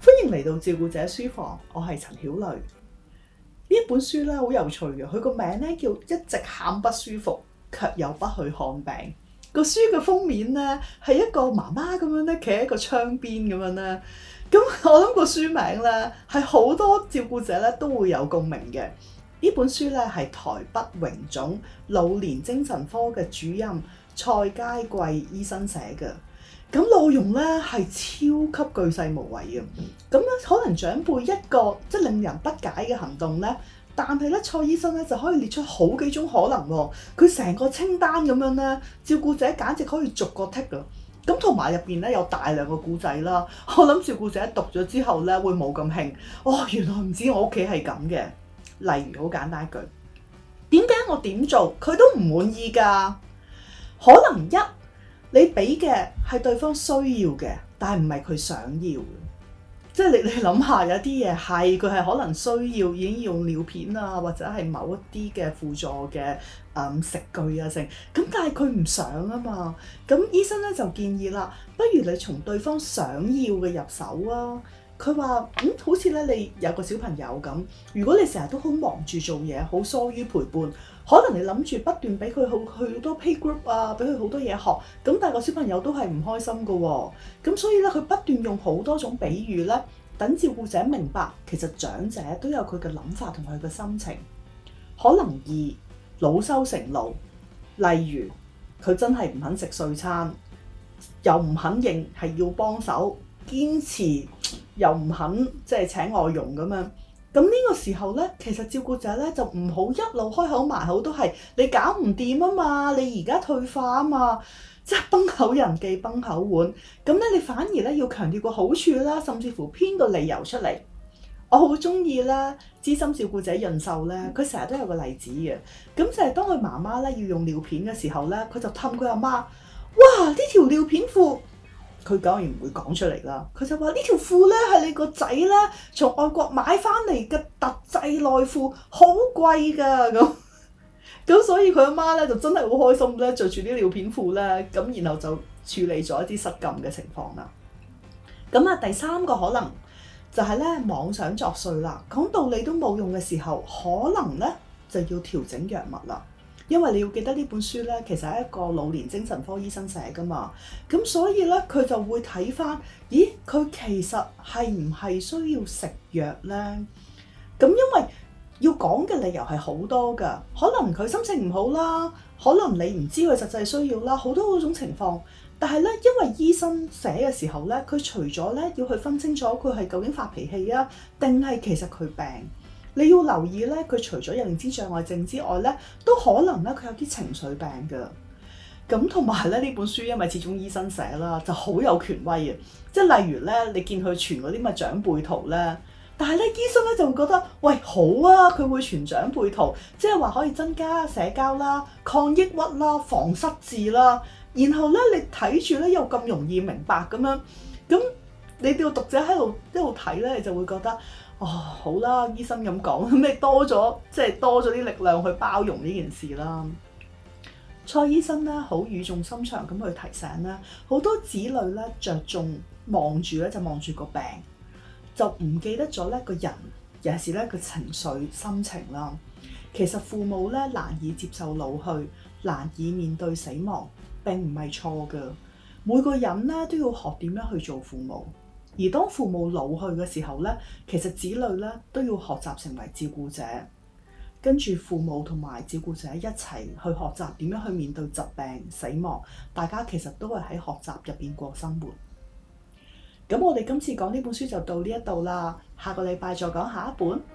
歡迎嚟到照顧者書房，我係陳曉蕾。呢一本書咧好有趣嘅，佢個名咧叫一直喊不舒服，卻又不去看病。個書嘅封面咧係一個媽媽咁樣咧企喺個窗邊咁樣咧。咁我諗個書名咧係好多照顧者咧都會有共鳴嘅。呢本書咧係台北榮總老年精神科嘅主任蔡佳貴醫生寫嘅。咁內容咧係超級巨細無遺嘅。咁咧可能長輩一個即係令人不解嘅行動咧，但係咧蔡醫生咧就可以列出好幾種可能喎。佢成個清單咁樣咧，照顧者簡直可以逐個剔㗎。咁同埋入邊咧有大量嘅故仔啦。我諗照顧者讀咗之後咧會冇咁興。哦，原來唔知我屋企係咁嘅。例如好簡單一句，點解我點做佢都唔滿意㗎？可能一你俾嘅係對方需要嘅，但係唔係佢想要嘅。即係你諗下，有啲嘢係佢係可能需要已經用尿片啊，或者係某一啲嘅輔助嘅食具啊剩。咁但係佢唔想啊嘛。咁醫生咧就建議啦，不如你從對方想要嘅入手啊。佢話好似咧你有個小朋友咁，如果你成日都好忙住做嘢，好疏於陪伴，可能你諗住不斷俾佢去好多 playgroup 啊，俾佢好多嘢學，咁但係個小朋友都係唔開心㗎喎。咁所以咧佢不斷用好多種比喻咧，等照顧者明白其實長者都有佢嘅諗法同佢嘅心情。可能二惱羞成怒，例如佢真係唔肯食碎餐，又唔肯認係要幫手，堅持又唔肯即係請外傭咁樣。咁呢個時候咧，其實照顧者咧就唔好一路開口埋口都係你搞唔掂啊嘛，你而家退化啊嘛，即係崩口人忌崩口碗。咁咧你反而咧要強調個好處啦，甚至乎編個理由出嚟。我好中意咧資深照顧者潤秀咧，佢成日都有個例子嘅。咁就係當佢媽媽咧要用尿片嘅時候咧，佢就氹佢阿媽：哇！呢條尿片褲。佢當然唔會講出嚟啦，佢就話呢條褲咧係你個仔咧從外國買翻嚟嘅特製內褲，好貴㗎咁所以佢阿媽咧就真係好開心咧，着住啲尿片褲咧，咁然後就處理咗一啲失禁嘅情況啦。咁啊，第三個可能就係咧妄想作祟啦，講道理都冇用嘅時候，可能咧就要調整藥物啦。因為你要記得呢本書咧，其實係一個老年精神科醫生寫㗎嘛，咁所以咧佢就會睇返，咦佢其實係唔係需要食藥咧？咁因為要講嘅理由係好多㗎，可能佢心情唔好啦，可能你唔知佢實際需要啦，好多嗰種情況。但係咧，因為醫生寫嘅時候咧，佢除咗咧要去分清楚佢係究竟發脾氣啊，定係其實佢病。你要留意咧，佢除咗有認知障礙症之外咧，都可能咧佢有啲情緒病㗎。咁同埋咧呢本書因為始終醫生寫啦，就好有權威嘅。即係例如咧，你見佢傳嗰啲乜長輩圖咧，但係咧醫生咧就會覺得，喂好啊，佢會傳長輩圖，即係話可以增加社交啦、抗抑鬱啦、防失智啦。然後咧你睇住咧又咁容易明白咁樣，咁你哋個讀者喺度一路睇咧，你就會覺得。哦，好啦，醫生咁講，咁你多咗啲力量去包容呢件事啦。蔡醫生咧好語重心長咁去提醒咧，好多子女咧着重望住咧就望住個病，就唔記得咗咧個人，尤其是咧個情緒心情啦。其實父母咧難以接受老去，難以面對死亡，並唔係錯㗎。每個人咧都要學點樣去做父母。而當父母老去嘅時候咧，其實子女咧都要學習成為照顧者，跟住父母同埋照顧者一齊去學習點樣去面對疾病、死亡。大家其實都係喺學習入邊過生活。咁我哋今次講呢本書就到呢一度啦，下個禮拜再講下一本。